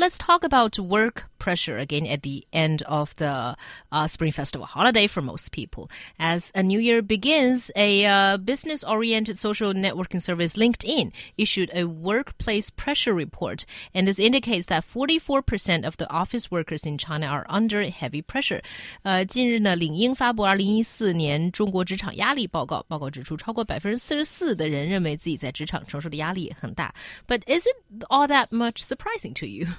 let's talk about work pressure again at the end of the Spring Festival holiday for most people. As a new year begins, a business-oriented social networking service, LinkedIn, issued a workplace pressure report, and this indicates that 44% of the office workers in China are under heavy pressure. 近日呢，领英发布2014年中国职场压力报告，报告指出，超过44%的人认为自己在职场承受的压力很大。But is it all that much surprising to you?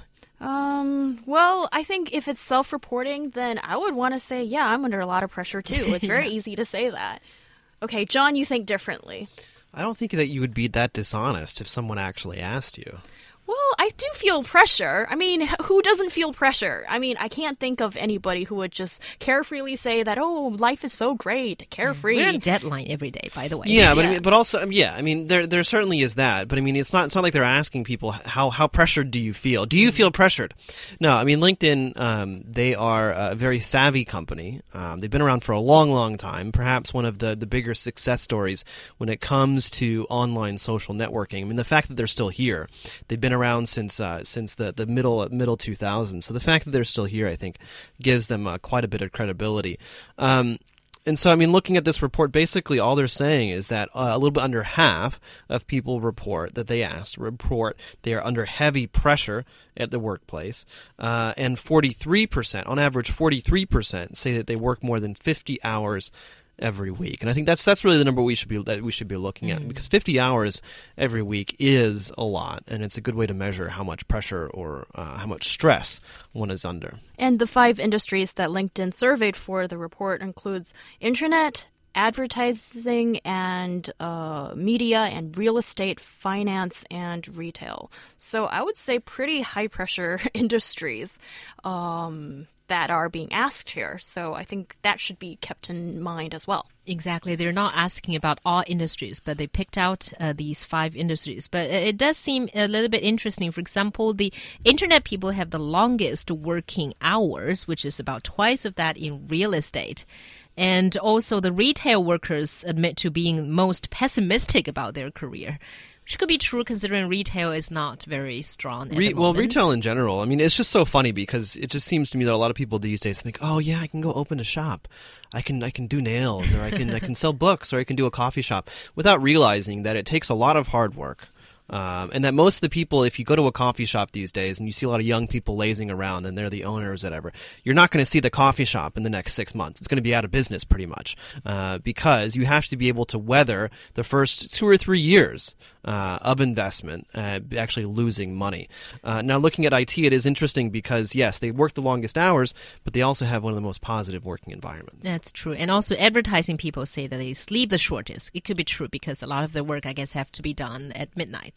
Well, I think if it's self-reporting, then I would want to say, yeah, I'm under a lot of pressure too. It's very easy to say that. Okay, John, you think differently. I don't think that you would be that dishonest if someone actually asked you. Well, I do feel pressure. I mean, who doesn't feel pressure? I mean, I can't think of anybody who would just carefreely say that, oh, life is so great, carefree. We're on deadline every day, by the way. Yeah, but I mean, but also, I mean, there certainly is that. But I mean, it's not like they're asking people how pressured do you feel? Do you feel pressured? No, I mean, LinkedIn, they are a very savvy company. They've been around for a long, long time. Perhaps one of the bigger success stories when it comes to online social networking. I mean, the fact that they're still here, they've been around since the middle 2000s. So the fact that they're still here, I think, gives them quite a bit of credibility. And so, I mean, looking at this report, basically all they're saying is that a little bit under half of people report they are under heavy pressure at the workplace, and 43%, on average, 43% say that they work more than 50 hours every week. And I think that's really the number we should be looking at, because 50 hours every week is a lot, and it's a good way to measure how much pressure or how much stress one is under. And the 5 industries that LinkedIn surveyed for the report includes internet, advertising, and media, and real estate, finance, and retail. So I would say pretty high-pressure industries that are being asked here. So I think that should be kept in mind as well. Exactly. They're not asking about all industries, but they picked out these 5 industries. But it does seem a little bit interesting. For example, the internet people have the longest working hours, which is about twice of that in real estate. And also the retail workers admit to being most pessimistic about their career. Which could be true considering retail is not very strong at the moment. Well, retail in general, I mean, it's just so funny because it just seems to me that a lot of people these days think, oh, yeah, I can go open a shop. I can do nails, or I can sell books, or I can do a coffee shop, without realizing that it takes a lot of hard work. And that most of the people, if you go to a coffee shop these days and you see a lot of young people lazing around and they're the owners or whatever, you're not going to see the coffee shop in the next 6 months. It's going to be out of business pretty much, because you have to be able to weather the first 2 or 3 years of investment, actually losing money. Now, looking at IT, it is interesting because, yes, they work the longest hours, but they also have one of the most positive working environments. That's true. And also advertising people say that they sleep the shortest. It could be true because a lot of their work, I guess, have to be done at midnight.